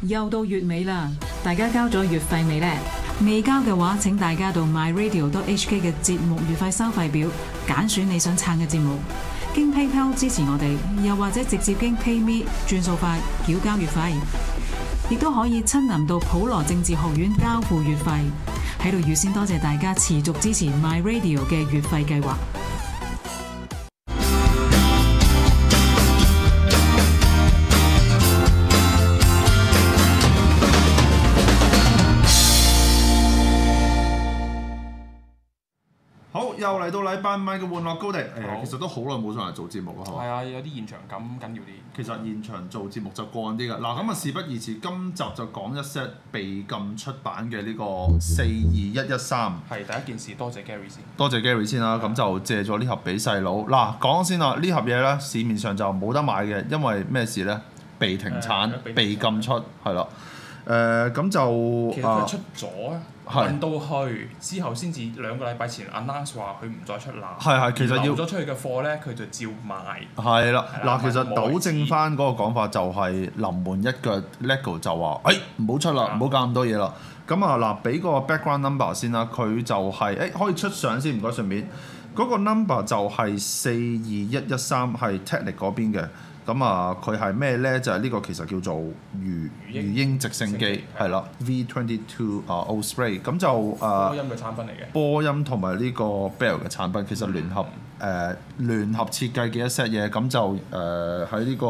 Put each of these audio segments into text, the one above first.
又到月尾啦，大家交咗月費未呢？未交嘅話，請大家到 myradio.hk 嘅節目月費收費表揀選你想撐嘅節目，經 PayPal 支持我哋，又或者直接經 PayMe 轉數快繳交月費，亦都可以親臨到普羅政治學院交付月費。喺度預先多謝大家持續支持 MyRadio 嘅月費計劃。 好，又嚟到禮拜五嘅玩樂高地。其實都好耐冇上嚟做節目啦，係嘛？ 係啊，有啲現場感緊要啲。 其實現場做節目就過癮啲㗎。嗱，咁啊事不宜遲，今集就講一 set 被禁出版嘅呢個42113。 係第一件事，多謝 Gary 先。 多謝 Gary 先啦，咁就借咗呢盒俾細佬。嗱，講先啦，呢盒嘢咧市面上就冇得買嘅，因為咩事咧？被停產、被禁出，係啦。咁就其實佢出咗啊，運到去之後先至2個禮拜前 announce 話佢唔再出啦。 係，其實要留咗出去嘅貨咧，佢就照賣。 係啦，嗱，其實糾正翻嗰個講法就係臨門一腳 LEGO 就話，唔好出啦，唔好搞咁多嘢啦。咁啊嗱，俾個 background number 先啦，佢就係可以出相先，唔該順便。嗰個 number 就係42113，係 Technic 嗰邊嘅。咁啊，佢係咩咧？就係呢個其實叫做魚鷹直升機，係啦 V22 Osprey。咁就波音嘅產品嚟嘅。 波音同埋呢個 Bell 嘅產品其實聯合設計嘅一 set 嘢，咁就喺呢個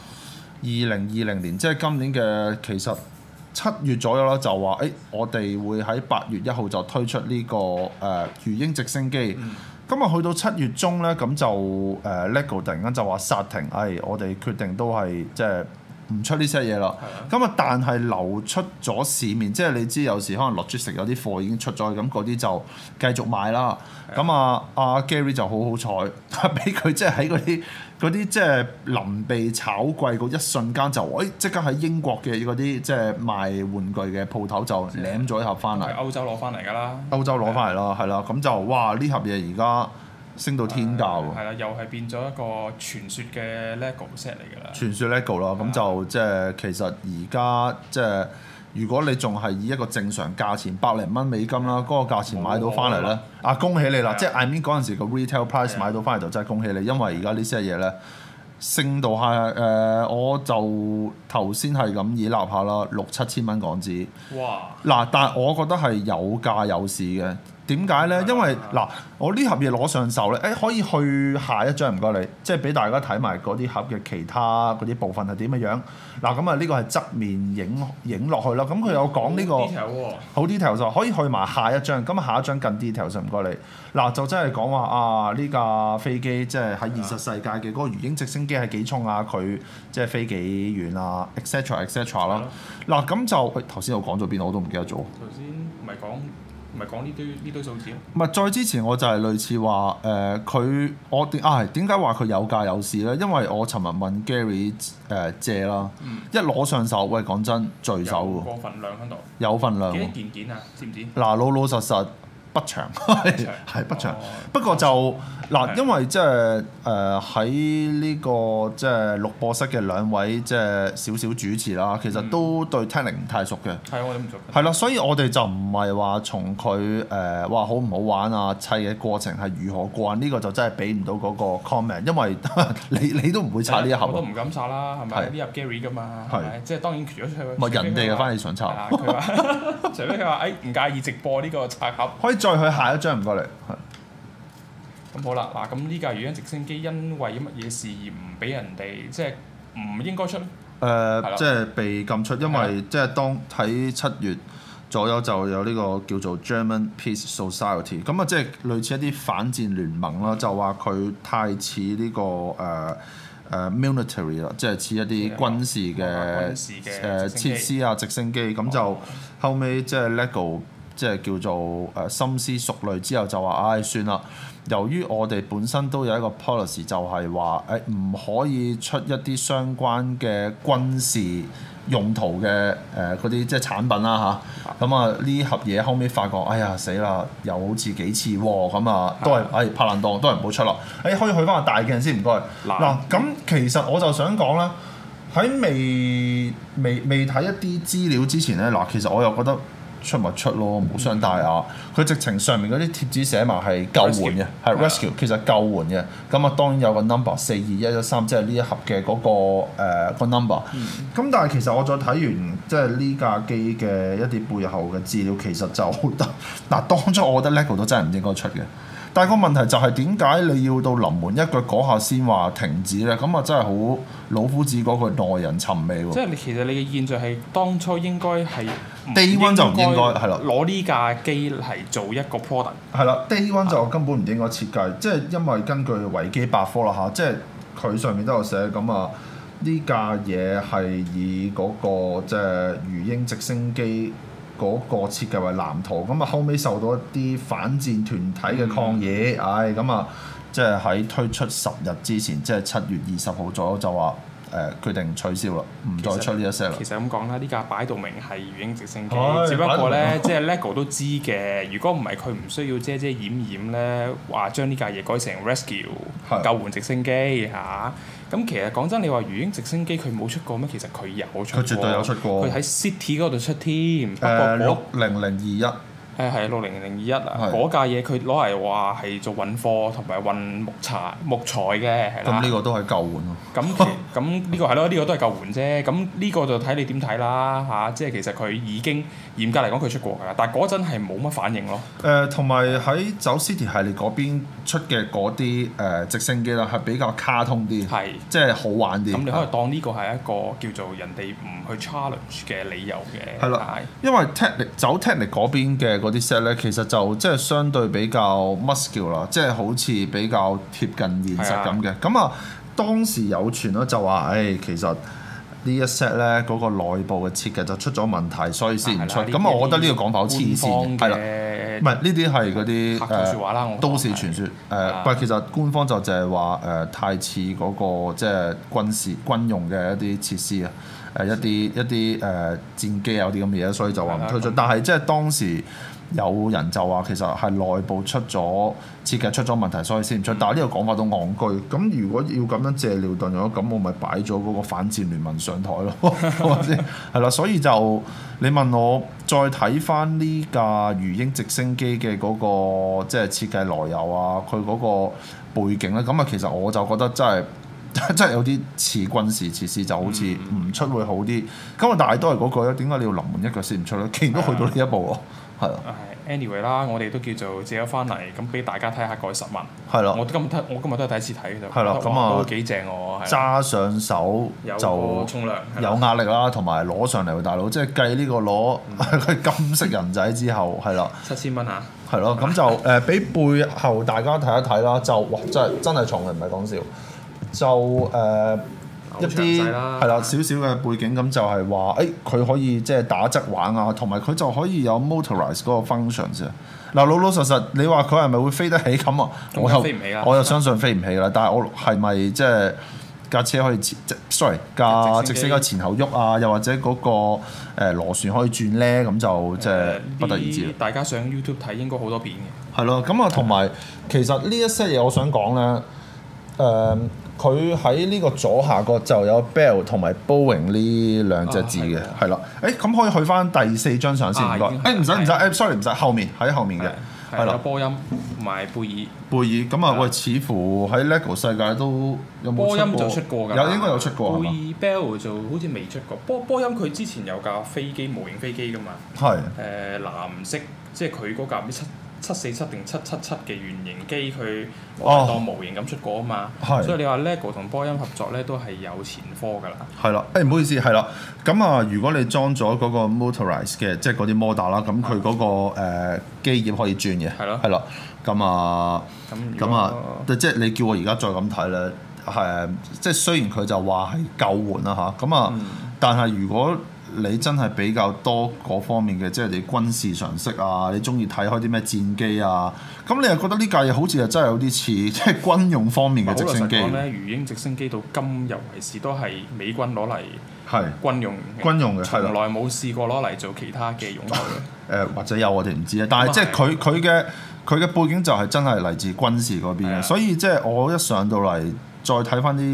2020年，即係今年嘅其實7月左右啦，就話我哋會喺8月1號就推出呢個魚鷹直升機。咁啊，去到7月中咧，咁就LEGO 突然間就話殺停，我哋決定都係即係唔出呢些嘢啦。咁啊，但係流出咗市面，即係你知有時可能logistics有啲貨已經出咗，咁嗰啲就繼續賣啦。咁啊，阿 Gary 就好彩，俾佢即係喺嗰啲即係臨被炒貴嗰一瞬間就即刻喺英國嘅嗰啲即係賣玩具嘅鋪頭就攬咗一盒翻嚟。 歐洲攞翻嚟㗎啦。歐洲攞翻嚟啦，係啦，咁就哇呢盒嘢而家升到天價喎。 係啦，又係變咗一個傳說嘅 LEGO set 嚟㗎啦。傳說 LEGO 啦，咁就即係其實而家即係如果你仲係以一個正常價錢100零蚊美金啦，嗰個價錢買到翻嚟咧，恭喜你啦！即係 I mean 嗰陣時個 retail price 買到翻嚟就真係恭喜你，因為而家呢些嘢咧升到係我就頭先係咁以立下啦，6-7千蚊港紙。哇！嗱，但係我覺得係有價有市嘅。點解咧？因為嗱，我呢盒嘢攞上手咧，可以去下一張唔該你，即係俾大家睇埋嗰啲盒嘅其他嗰啲部分係點嘅樣。嗱，咁啊呢個係側面影落去啦。咁佢有講呢個好 detail 就可以去埋下一張。咁下一張更 detail 就唔該你。嗱，就真係講話呢架飛機即係喺現實世界嘅嗰個魚鷹直升機係幾重啊？佢即係飛幾遠啊？etc 啦。嗱，咁就頭先我講咗邊我都唔記得咗。頭先唔係講呢堆數字咯。 唔係，再之前我就係類似話我點解話佢有價有市咧？因為我尋日問 Gary 借啦，一攞上手，喂講真，聚手喎。 有個份量喺度。 有份量。 幾多件啊？知唔知？ 嗱，老實不長，係不長。不過就嗱，因為即係喺呢個即係錄播室嘅兩位即係少少主持啦，其實都對 Technic 唔太熟嘅。 係我哋唔熟。 係啦，所以我哋就唔係話從佢話好唔好玩啊，砌嘅過程係如何過呢個就真係俾唔到嗰個 comment，因為你都唔會拆呢一盒。 我都唔敢拆啦，係咪？呢盒 Gary 㗎嘛，係咪？即係當然除咗出去。 唔係人哋嘅，翻嚟想拆。 佢話，除非佢話唔介意直播呢個拆盒。 可以再去下一張唔該你。 咁好啦，嗱，咁呢架魚鷹直升機因為乜嘢事而唔俾人哋即係唔應該出咧？ 即係被禁出，因為即係當喺7月左右就有呢個叫做 German Peace Society， 咁啊即係類似一啲反戰聯盟啦，就話佢太似呢個military 啦，即係似一啲軍事嘅設施啊直升機，咁就後尾即係 LEGO 即係叫做深思熟慮之後就話算啦。由於我哋本身都有一個 policy， 就係話唔可以出一啲相關嘅軍事用途嘅嗰啲即係產品啦嚇。咁啊呢盒嘢後尾發覺，哎呀死啦，又好似幾似喎，咁啊都係拍爛檔，都係唔好出啦。可以去翻個大鏡先唔該。嗱咁其實我就想講啦。 喺未睇一啲資料之前咧，嗱，其實我又覺得出咪出咯，無傷大雅。佢直情上面嗰啲貼紙寫埋係救援嘅，係 rescue，其實救援嘅。咁啊當然有個 number 42113，即係呢一盒嘅嗰個number。咁但係其實我再睇完即係呢架機嘅一啲背後嘅資料，其實就嗱當初我覺得 LEGO 都真係唔應該出嘅。但係個問題就係點解你要到臨門一腳嗰下先話停止咧？咁啊真係好老夫子嗰句耐人尋味喎。 即係其實你嘅現象係當初應該係 Day One 就唔應該係啦， 攞呢架機嚟做一個 product。 係啦，Day One 就根本唔應該設計，即係因為根據維基百科啦嚇，即係佢上面都有寫咁啊，呢架嘢係以嗰個即係魚鷹直升機嗰個設計為藍圖，咁啊後尾受到一啲反戰團體嘅抗議，咁啊即係喺推出10日之前，即係7月20號左右就話決定取消啦，唔再出呢一 set 啦。 其實咁講啦，呢架擺到明係魚鷹直升機，只不過咧即係 LEGO 都知嘅。如果唔係佢唔需要遮遮掩掩咧，話將呢架嘢改成 rescue 救援直升機嚇。咁其實講真，你話魚鷹直升機佢冇出過咩？其實佢有出過， 佢絕對有出過。 佢喺 City 嗰度出添。不過 60021。 係60021啊！嗰架嘢佢攞嚟話係做運貨同埋運木材嘅，係啦。 咁呢個都係救援咯。 咁呢個係咯，呢個都係救援啫。咁呢個就睇你點睇啦嚇。即係其實佢已經嚴格嚟講佢出過㗎，但係嗰陣係冇乜反應咯。 同埋喺走 City 系列嗰邊出嘅嗰啲直升機啦，係比較卡通啲，即係好玩啲。咁你可以當呢個係一個叫做人哋唔去 challenge 嘅理由嘅。 係啦，因為 Technic 嗰邊嘅嗰啲 set 咧，其實就即係相對比較 muscular 啦，即係好似比較貼近現實咁嘅。咁啊，當時有傳咯，就話其實呢一 set 咧嗰個內部嘅設計就出咗問題，所以先唔出。咁我覺得呢個講法好黐線，係啦，唔係呢啲係嗰啲説話啦， 都市傳說。不過其實官方就淨係話太似嗰個即係軍用嘅一啲設施啊。一啲戰機有啲咁嘅嘢，所以就話唔推出。但係即係當時有人就話其實係內部出咗設計出咗問題，所以先唔出。但係呢個講法都戇居。咁如果要咁樣借尿遁咗，咁我咪擺咗嗰個反戰聯盟上台咯，係咪先？係啦，所以就你問我再睇翻呢架魚鷹直升機嘅嗰個即係設計來由啊，佢嗰個背景咧，咁啊其實我就覺得真係有啲似軍事設施，就好似唔出會好啲。咁啊，但係都係嗰句咧，點解你要臨門一腳先唔出咧？既然都去到呢一步喎，係啊。 anyway 啦，我哋都叫做借咗翻嚟，咁俾大家睇下個實物。 係啦。 我今日都係第一次睇就。 係啦，咁啊都幾正喎。 揸上手就沖涼， 有壓力啦，同埋攞上嚟喎，大佬，即係計呢個攞佢金色人仔之後，係啦。 7000蚊嚇。 係咯，咁就俾背後大家睇一睇啦，就哇真係重嘅，唔係講笑。就一啲係啦，少少嘅背景咁就係話，佢可以即係打側玩啊，同埋佢就可以有 motorize 嗰個 function 啫。嗱，老實，你話佢係咪會飛得起咁啊？我又相信飛唔起啦。但係我係咪即係架車可以架直升機前後喐啊？又或者嗰個螺旋可以轉咧？咁就即係不得而知。 大家上 YouTube 睇應該好多片嘅。係咯，咁啊，同埋其實呢一些嘢我想講咧，佢喺呢個左下角就有 Bell 同埋 Boeing 呢兩隻字嘅，係啦。咁可以去翻第4張相先，唔該。唔使，sorry 唔使，後面喺後面嘅，係啦。 波音同埋貝爾。 貝爾咁啊，喂，似乎喺 LEGO 世界都有冇出過？ 波音就出過㗎。 應該有出過。 貝爾 Bell 就好似未出過。波音佢之前有架飛機模型飛機㗎嘛。 係。 藍色，即係佢嗰架唔知747定777嘅原型機，佢攞當模型咁出過啊嘛，所以你話 LEGO 同波音合作咧都係有前科㗎啦。 係啦，唔好意思，係啦。咁啊，如果你裝咗嗰個 motorize 嘅，即係嗰啲 motor 啦，咁佢嗰個機葉可以轉嘅，係咯。咁啊，即係你叫我而家再咁睇咧，即係雖然佢就話係救援啦嚇，咁啊，但係如果你真係比較多嗰方面嘅，即係你軍事常識啊，你中意睇開啲咩戰機啊，咁你又覺得呢架嘢好似係真係有啲似即係軍用方面嘅直升機。 好老實講咧，魚鷹直升機到今日為止都係美軍攞嚟軍用嘅，從來冇試過攞嚟做其他嘅用途嘅。 或者有我哋唔知啊，但係即係佢嘅背景就係真係嚟自軍事嗰邊嘅，所以即係我一上到嚟再睇翻啲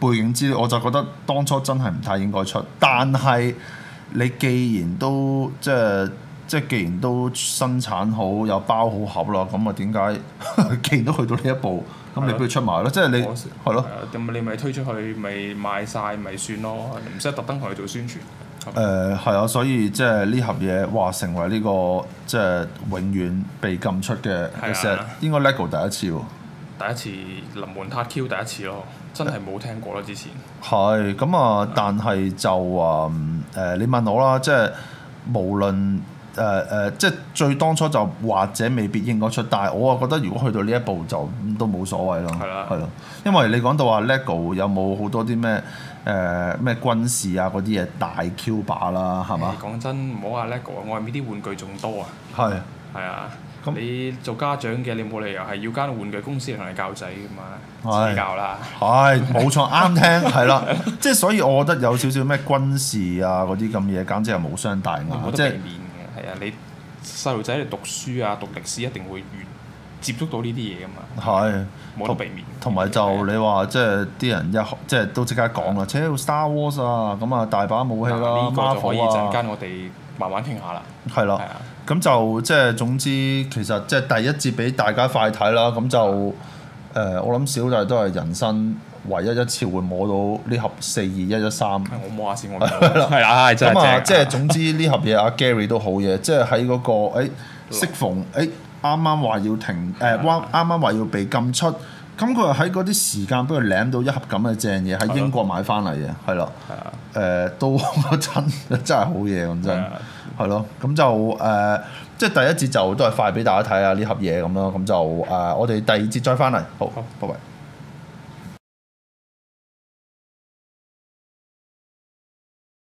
背景資料，我就覺得當初真係唔太應該出。但係你既然都即係既然都生產好有包好盒啦，咁啊點解既然都去到呢一步，咁你不如出埋咯？即係你係咯。 咁你咪推出去，咪賣晒咪算咯，唔使特登同佢做宣傳。 係啊，所以即係呢盒嘢，哇！成為呢個即係永遠被禁出嘅 set，應該 LEGO 第一次喎。 第一次臨門撻 Q 第一次咯，真係冇聽過啦之前。 係咁啊，但係就話你問我啦，即係無論即係最當初就或者未必應該出，但係我啊覺得如果去到呢一步就都冇所謂咯。係啦，係咯，因為你講到話 LEGO 有冇好多啲咩咩軍事啊嗰啲嘢大 Q 把啦，係嘛？ 講真，唔好話 LEGO，外面啲玩具仲多啊。係啊。你做家長嘅，你冇理由係要間玩具公司嚟同你教仔噶嘛？自己教啦。係冇錯，啱聽係啦。即係所以，我覺得有少少咩軍事啊嗰啲咁嘢，簡直係無傷大雅。 冇得避免嘅，係啊！你細路仔嚟讀書啊、讀歷史一定會接觸到呢啲嘢噶嘛。係冇得避免。同埋就你話即係啲人即係都即刻講啦，扯到 Star Wars 啊，咁啊大把武器啦， 呢個就可以陣間啊我哋慢慢傾下啦。 係啦。咁就即係總之，其實即係第一節俾大家快睇啦。咁就我諗小弟都係人生唯一一次會摸到呢盒42113。 我摸下先，我係啦，係真係正。咁啊， 即係總之呢盒嘢阿 Gary 都好嘢，即係喺嗰個適逢啱啱話要停啱啱話要被禁出，咁佢又喺嗰啲時間俾佢攬到一盒咁嘅正嘢喺英國買翻嚟嘅，係啦。都真係好嘢咁真。係咯，咁就即係第一節就都係快俾大家睇下呢盒嘢咁咯，咁就我哋第二節再翻嚟，好，拜拜。